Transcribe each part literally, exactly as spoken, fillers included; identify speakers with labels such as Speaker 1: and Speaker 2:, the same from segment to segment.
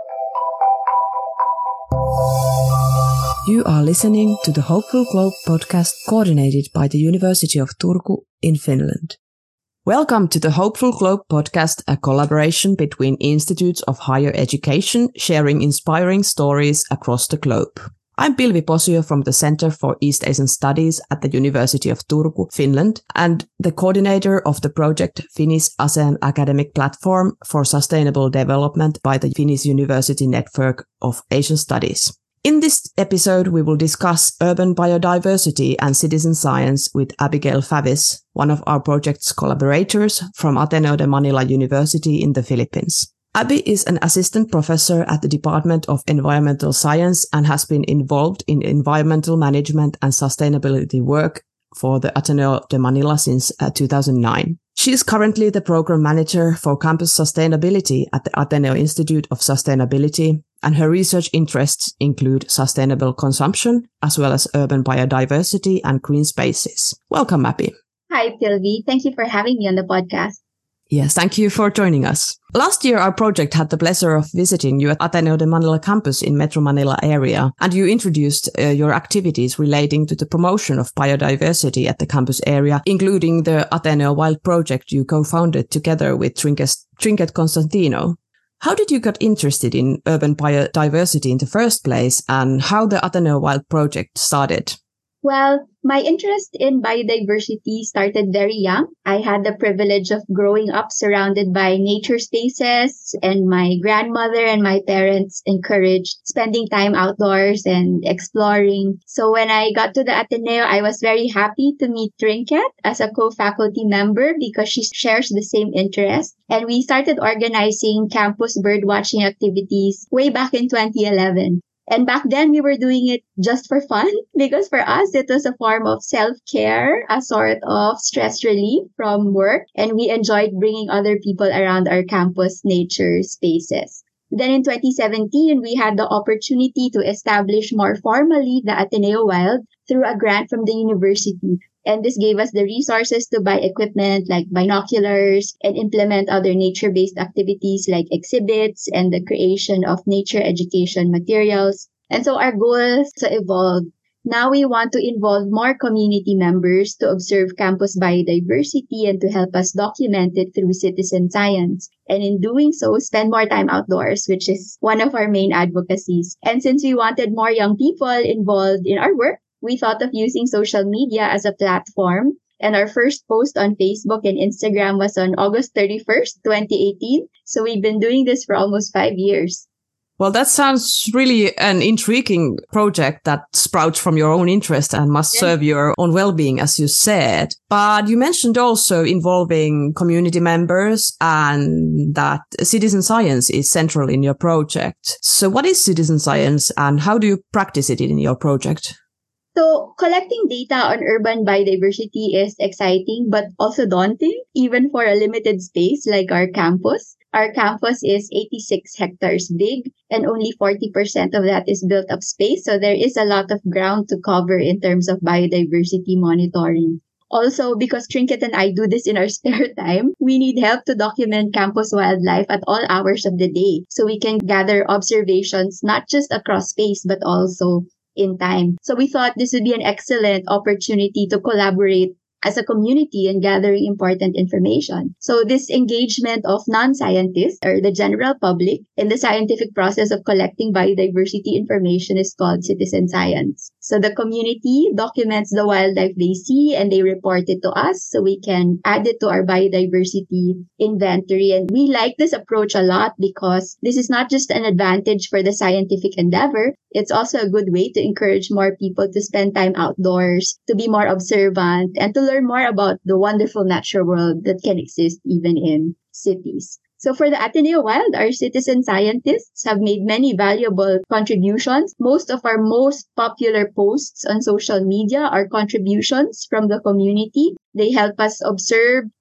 Speaker 1: You are listening to the Hopeful Globe podcast coordinated by the University of Turku in Finland. Welcome to the Hopeful Globe podcast, a collaboration between institutes of higher education sharing inspiring stories across the globe. I'm Pilvi Posio from the Center for East Asian Studies at the University of Turku, Finland, and the coordinator of the project Finnish ASEAN Academic Platform for Sustainable Development by the Finnish University Network of Asian Studies. In this episode, we will discuss urban biodiversity and citizen science with Abigail Favis, one of our project's collaborators from Ateneo de Manila University in the Philippines. Abby is an assistant professor at the Department of Environmental Science and has been involved in environmental management and sustainability work for the Ateneo de Manila since uh, two thousand nine. She is currently the program manager for campus sustainability at the Ateneo Institute of Sustainability, and her research interests include sustainable consumption, as well as urban biodiversity and green spaces. Welcome, Abby.
Speaker 2: Hi, Pilvi. Thank you for having me on the podcast.
Speaker 1: Yes, thank you for joining us. Last year, our project had the pleasure of visiting you at Ateneo de Manila campus in Metro Manila area, and you introduced uh, your activities relating to the promotion of biodiversity at the campus area, including the Ateneo Wild project you co-founded together with Trinket, Trinket Constantino. How did you get interested in urban biodiversity in the first place, and how the Ateneo Wild project started?
Speaker 2: Well, my interest in biodiversity started very young. I had the privilege of growing up surrounded by nature spaces, and my grandmother and my parents encouraged spending time outdoors and exploring. So when I got to the Ateneo, I was very happy to meet Trinket as a co-faculty member because she shares the same interest. And we started organizing campus birdwatching activities way back in twenty eleven. And back then, we were doing it just for fun because for us, it was a form of self-care, a sort of stress relief from work. And we enjoyed bringing other people around our campus nature spaces. Then in twenty seventeen, we had the opportunity to establish more formally the Ateneo Wild through a grant from the university. And this gave us the resources to buy equipment like binoculars and implement other nature-based activities like exhibits and the creation of nature education materials. And so our goal is to evolve. Now we want to involve more community members to observe campus biodiversity and to help us document it through citizen science. And in doing so, spend more time outdoors, which is one of our main advocacies. And since we wanted more young people involved in our work, we thought of using social media as a platform. And our first post on Facebook and Instagram was on August thirty-first, twenty eighteen. So we've been doing this for almost five years.
Speaker 1: Well, that sounds really an intriguing project that sprouts from your own interest and must
Speaker 2: Yeah.
Speaker 1: serve your own well-being, as you said. But you mentioned also involving community members and that citizen science is central in your project. So what is citizen science and how do you practice it in your project?
Speaker 2: So collecting data on urban biodiversity is exciting, but also daunting, even for a limited space like our campus. Our campus is eighty-six hectares big, and only forty percent of that is built up space. So there is a lot of ground to cover in terms of biodiversity monitoring. Also, because Trinket and I do this in our spare time, we need help to document campus wildlife at all hours of the day. So we can gather observations, not just across space, but also in time. So we thought this would be an excellent opportunity to collaborate as a community in gathering important information. So this engagement of non-scientists or the general public in the scientific process of collecting biodiversity information is called citizen science. So the community documents the wildlife they see and they report it to us so we can add it to our biodiversity inventory. And we like this approach a lot because this is not just an advantage for the scientific endeavor, it's also a good way to encourage more people to spend time outdoors, to be more observant, and to learn more about the wonderful natural world that can exist even in cities. So for the Ateneo Wild, our citizen scientists have made many valuable contributions. Most of our most popular posts on social media are contributions from the community. They help us observe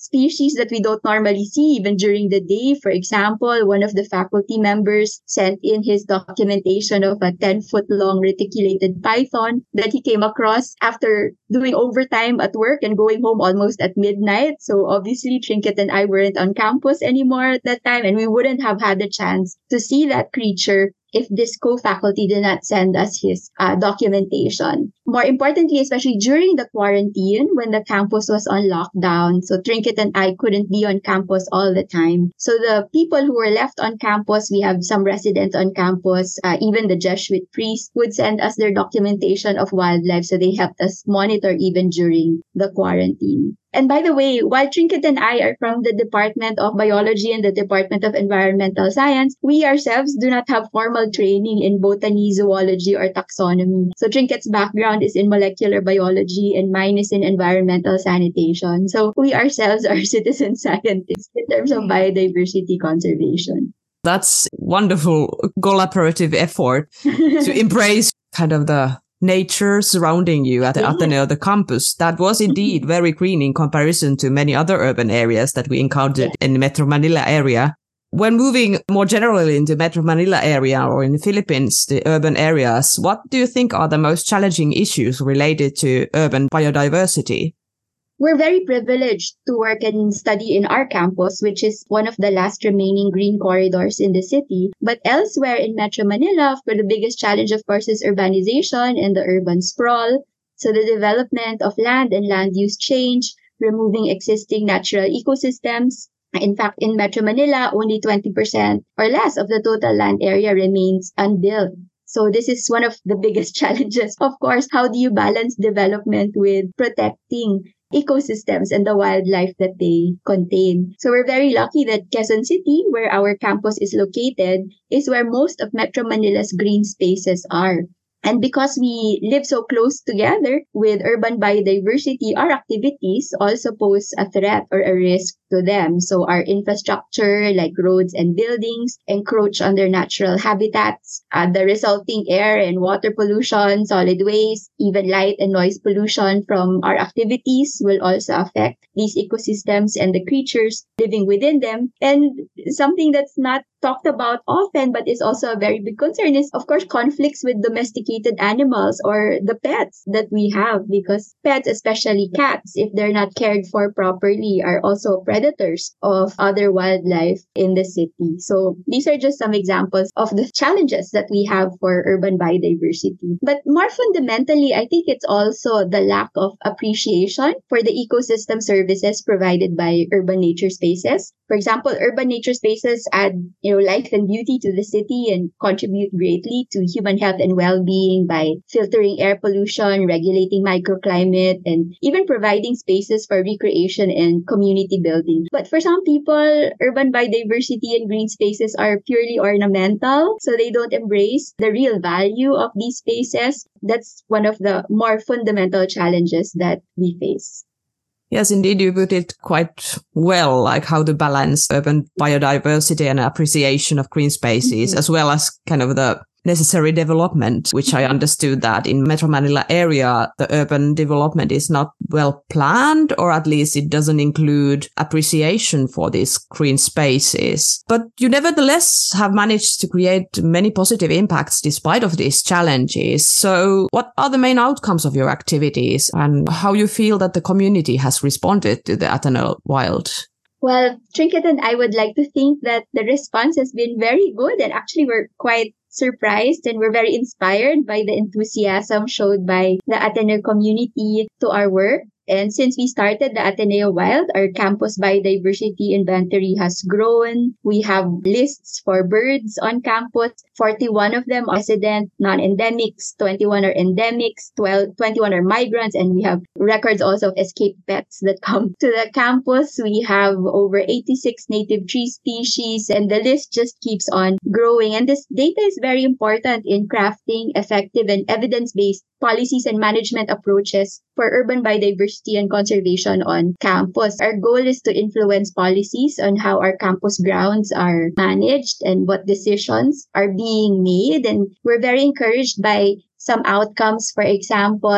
Speaker 2: species that we don't normally see even during the day. For example, one of the faculty members sent in his documentation of a ten-foot-long reticulated python that he came across after doing overtime at work and going home almost at midnight. So obviously, Trinket and I weren't on campus anymore at that time, and we wouldn't have had the chance to see that creature if this co-faculty did not send us his uh, documentation. More importantly, especially during the quarantine when the campus was on lockdown, so Trinket and I couldn't be on campus all the time. So the people who were left on campus, we have some residents on campus, uh, even the Jesuit priests would send us their documentation of wildlife, so they helped us monitor even during the quarantine. And by the way, while Trinket and I are from the Department of Biology and the Department of Environmental Science, we ourselves do not have formal training in botany, zoology, or taxonomy. So Trinket's background is in molecular biology and mine is in environmental sanitation. So we ourselves are citizen scientists in terms of biodiversity conservation.
Speaker 1: That's wonderful collaborative effort to embrace kind of the nature surrounding you at the
Speaker 2: Yeah.
Speaker 1: Ateneo, the campus. That was indeed very green in comparison to many other urban areas that we encountered
Speaker 2: Yeah.
Speaker 1: in the Metro Manila area. When moving more generally into Metro Manila area or in the Philippines, the urban areas, what do you think are the most challenging issues related to urban biodiversity?
Speaker 2: We're very privileged to work and study in our campus, which is one of the last remaining green corridors in the city. But elsewhere in Metro Manila, for the biggest challenge, of course, is urbanization and the urban sprawl. So the development of land and land use change, removing existing natural ecosystems. In fact, in Metro Manila, only twenty percent or less of the total land area remains unbuilt. So this is one of the biggest challenges. Of course, how do you balance development with protecting ecosystems and the wildlife that they contain? So we're very lucky that Quezon City, where our campus is located, is where most of Metro Manila's green spaces are. And because we live so close together with urban biodiversity, our activities also pose a threat or a risk to them. So our infrastructure, like roads and buildings, encroach on their natural habitats. Uh, the resulting air and water pollution, solid waste, even light and noise pollution from our activities will also affect these ecosystems and the creatures living within them. And something that's not talked about often, but is also a very big concern is, of course, conflicts with domesticated animals or the pets that we have, because pets, especially cats, if they're not cared for properly, are also predators of other wildlife in the city. So these are just some examples of the challenges that we have for urban biodiversity. But more fundamentally, I think it's also the lack of appreciation for the ecosystem services provided by urban nature spaces. For example, urban nature spaces add, you know, life and beauty to the city and contribute greatly to human health and well-being by filtering air pollution, regulating microclimate, and even providing spaces for recreation and community building. But for some people, urban biodiversity and green spaces are purely ornamental, so they don't embrace the real value of these spaces. That's one of the more fundamental challenges that we face.
Speaker 1: Yes, indeed, you put it quite well, like how to balance urban biodiversity and appreciation of green spaces, mm-hmm. as well as kind of the necessary development, which I understood that in Metro Manila area, the urban development is not well planned, or at least it doesn't include appreciation for these green spaces. But you nevertheless have managed to create many positive impacts despite of these challenges. So what are the main outcomes of your activities and how you feel that the community has responded to the Ateneo Wild?
Speaker 2: Well, Trinket and I would like to think that the response has been very good, and actually we're quite surprised and we're very inspired by the enthusiasm showed by the Ateneo community to our work. And since we started the Ateneo Wild, our campus biodiversity inventory has grown. We have lists for birds on campus. forty-one of them are resident, non-endemics, twenty-one are endemics, twelve, twenty-one are migrants, and we have records also of escaped pets that come to the campus. We have over eighty-six native tree species, and the list just keeps on growing. And this data is very important in crafting effective and evidence-based policies and management approaches for urban biodiversity and conservation on campus. Our goal is to influence policies on how our campus grounds are managed and what decisions are being made. And we're very encouraged by some outcomes. For example,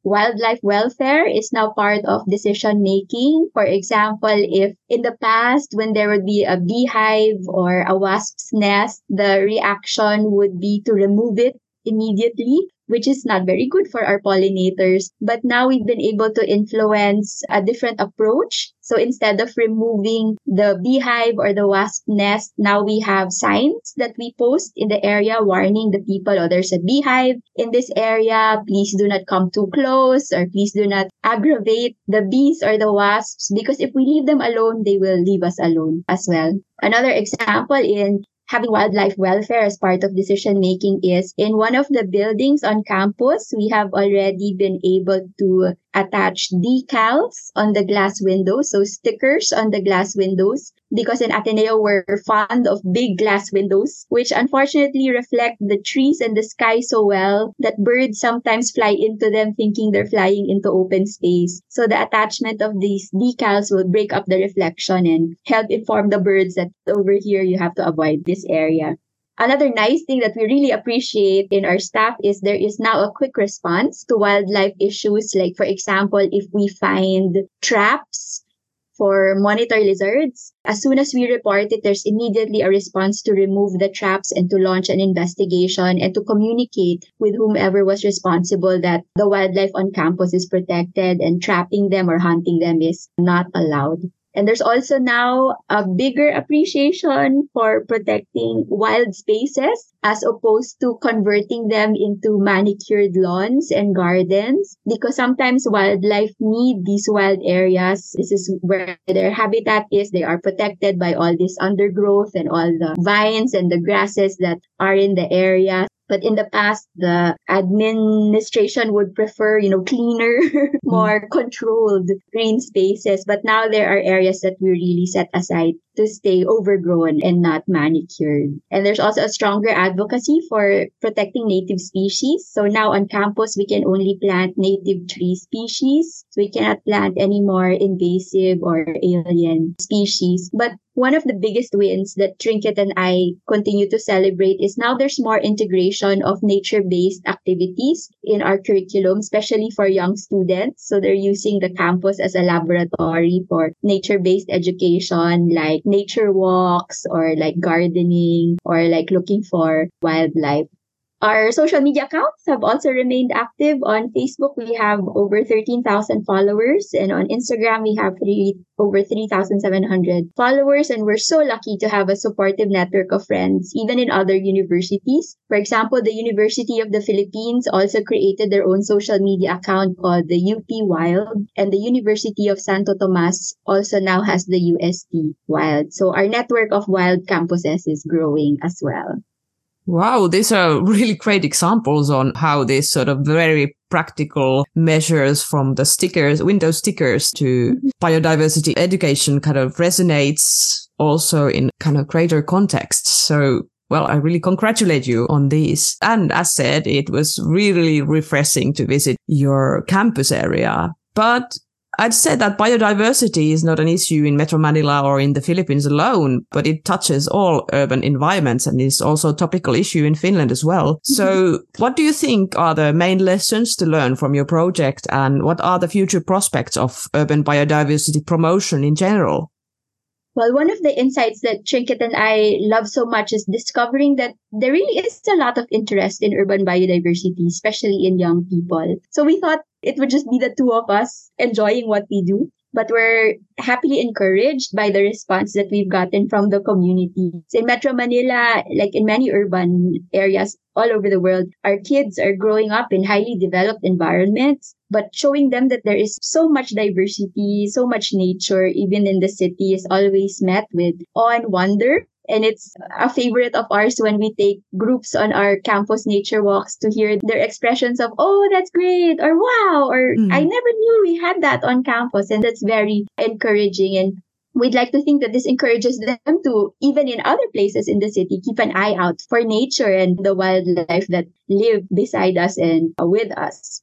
Speaker 2: wildlife welfare is now part of decision making. For example, if in the past, when there would be a beehive or a wasp's nest, the reaction would be to remove it immediately, which is not very good for our pollinators. But now we've been able to influence a different approach. So instead of removing the beehive or the wasp nest, now we have signs that we post in the area warning the people, oh, there's a beehive in this area. Please do not come too close, or please do not aggravate the bees or the wasps, because if we leave them alone, they will leave us alone as well. Another example in having wildlife welfare as part of decision making is in one of the buildings on campus, we have already been able to attach decals on the glass windows, so stickers on the glass windows, because in Ateneo we're fond of big glass windows, which unfortunately reflect the trees and the sky so well that birds sometimes fly into them thinking they're flying into open space. So the attachment of these decals will break up the reflection and help inform the birds that over here you have to avoid this area. Another nice thing that we really appreciate in our staff is there is now a quick response to wildlife issues. Like, for example, if we find traps for monitor lizards, as soon as we report it, there's immediately a response to remove the traps and to launch an investigation and to communicate with whomever was responsible that the wildlife on campus is protected and trapping them or hunting them is not allowed. And there's also now a bigger appreciation for protecting wild spaces as opposed to converting them into manicured lawns and gardens, because sometimes wildlife need these wild areas. This is where their habitat is. They are protected by all this undergrowth and all the vines and the grasses that are in the area. But in the past, the administration would prefer, you know, cleaner, more controlled green spaces. But now there are areas that we really set aside to stay overgrown and not manicured. And there's also a stronger advocacy for protecting native species. So now on campus, we can only plant native tree species. So we cannot plant any more invasive or alien species. But one of the biggest wins that Trinket and I continue to celebrate is now there's more integration of nature-based activities in our curriculum, especially for young students. So they're using the campus as a laboratory for nature-based education, like nature walks or like gardening or like looking for wildlife. Our social media accounts have also remained active. On Facebook, we have over thirteen thousand followers. And on Instagram, we have three, over three thousand seven hundred followers. And we're so lucky to have a supportive network of friends, even in other universities. For example, the University of the Philippines also created their own social media account called the U P Wild. And the University of Santo Tomas also now has the U S T Wild. So our network of wild campuses is growing as well.
Speaker 1: Wow, these are really great examples on how these sort of very practical measures from the stickers, window stickers to biodiversity education kind of resonates also in kind of greater contexts. So, well, I really congratulate you on these. And as said, it was really refreshing to visit your campus area. But I'd say that biodiversity is not an issue in Metro Manila or in the Philippines alone, but it touches all urban environments and is also a topical issue in Finland as well. So what do you think are the main lessons to learn from your project, and what are the future prospects of urban biodiversity promotion in general?
Speaker 2: Well, one of the insights that Trinket and I love so much is discovering that there really is a lot of interest in urban biodiversity, especially in young people. So we thought it would just be the two of us enjoying what we do. But we're happily encouraged by the response that we've gotten from the community. So in Metro Manila, like in many urban areas all over the world, our kids are growing up in highly developed environments, but showing them that there is so much diversity, so much nature, even in the city, is always met with awe and wonder. And it's a favorite of ours when we take groups on our campus nature walks to hear their expressions of, oh, that's great, or wow, or mm. I never knew we had that on campus. And that's very encouraging. And we'd like to think that this encourages them to, even in other places in the city, keep an eye out for nature and the wildlife that live beside us and with us.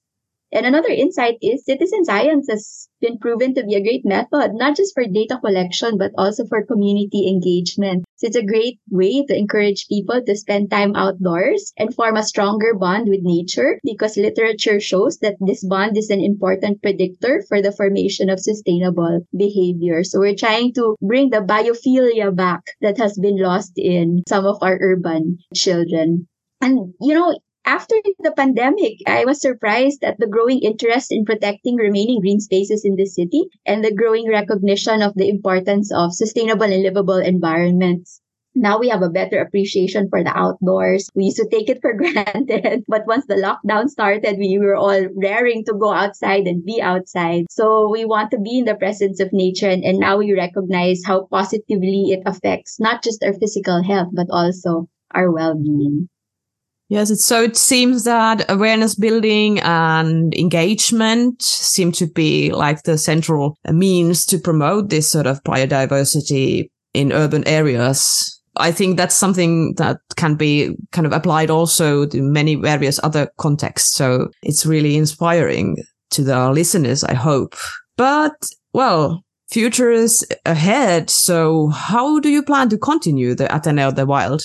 Speaker 2: And another insight is citizen science has been proven to be a great method, not just for data collection, but also for community engagement. So it's a great way to encourage people to spend time outdoors and form a stronger bond with nature, because literature shows that this bond is an important predictor for the formation of sustainable behavior. So we're trying to bring the biophilia back that has been lost in some of our urban children. And, you know, after the pandemic, I was surprised at the growing interest in protecting remaining green spaces in the city and the growing recognition of the importance of sustainable and livable environments. Now we have a better appreciation for the outdoors. We used to take it for granted, but once the lockdown started, we were all raring to go outside and be outside. So we want to be in the presence of nature, and, and now we recognize how positively it affects not just our physical health, but also our well-being.
Speaker 1: Yes, it's, so it seems that awareness building and engagement seem to be like the central means to promote this sort of biodiversity in urban areas. I think that's something that can be kind of applied also to many various other contexts. So it's really inspiring to the listeners, I hope. But, well, future is ahead. So how do you plan to continue the Ateneo of the Wild?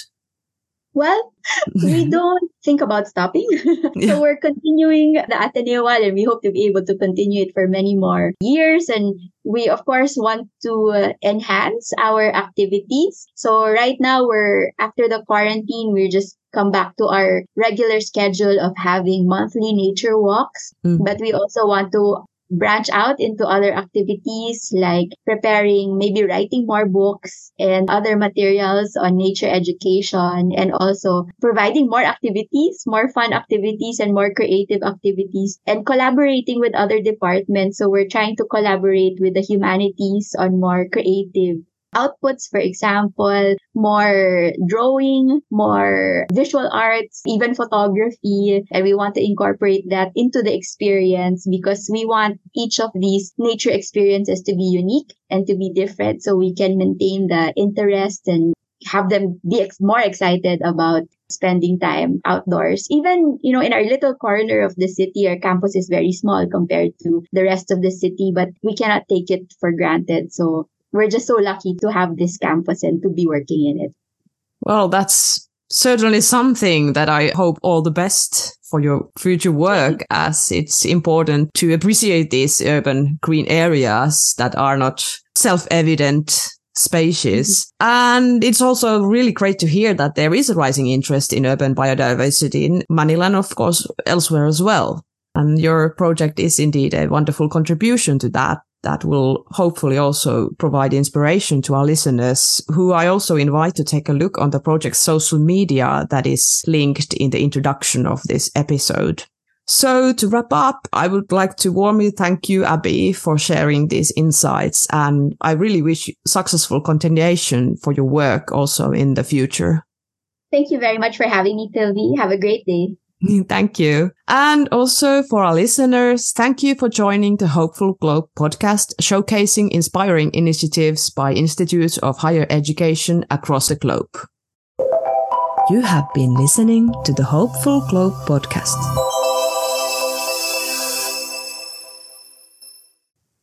Speaker 2: Well, we don't think about stopping.
Speaker 1: Yeah.
Speaker 2: So we're continuing the Ateneo Wild, and we hope to be able to continue it for many more years. And we, of course, want to uh, enhance our activities. So right now, we're after the quarantine, we're just come back to our regular schedule of having monthly nature walks. Mm. But we also want to branch out into other activities like preparing, maybe writing more books and other materials on nature education, and also providing more activities, more fun activities and more creative activities, and collaborating with other departments. So we're trying to collaborate with the humanities on more creative outputs, for example, more drawing, more visual arts, even photography. And we want to incorporate that into the experience because we want each of these nature experiences to be unique and to be different so we can maintain the interest and have them be ex- more excited about spending time outdoors. Even, you know, in our little corner of the city, our campus is very small compared to the rest of the city, but we cannot take it for granted. So we're just so lucky to have this campus and to be working in it.
Speaker 1: Well, that's certainly something that I hope all the best for your future work, as it's important to appreciate these urban green areas that are not self-evident spaces. Mm-hmm. And it's also really great to hear that there is a rising interest in urban biodiversity in Manila and, of course, elsewhere as well. And your project is indeed a wonderful contribution to that. That will hopefully also provide inspiration to our listeners, who I also invite to take a look on the project's social media that is linked in the introduction of this episode. So to wrap up, I would like to warmly thank you, Abby, for sharing these insights. And I really wish you successful continuation for your work also in the future.
Speaker 2: Thank you very much for having me, Tilvi. Have a great day.
Speaker 1: Thank you. And also for our listeners, thank you for joining the Hopeful Globe podcast, showcasing inspiring initiatives by institutes of higher education across the globe. You have been listening to the Hopeful Globe podcast.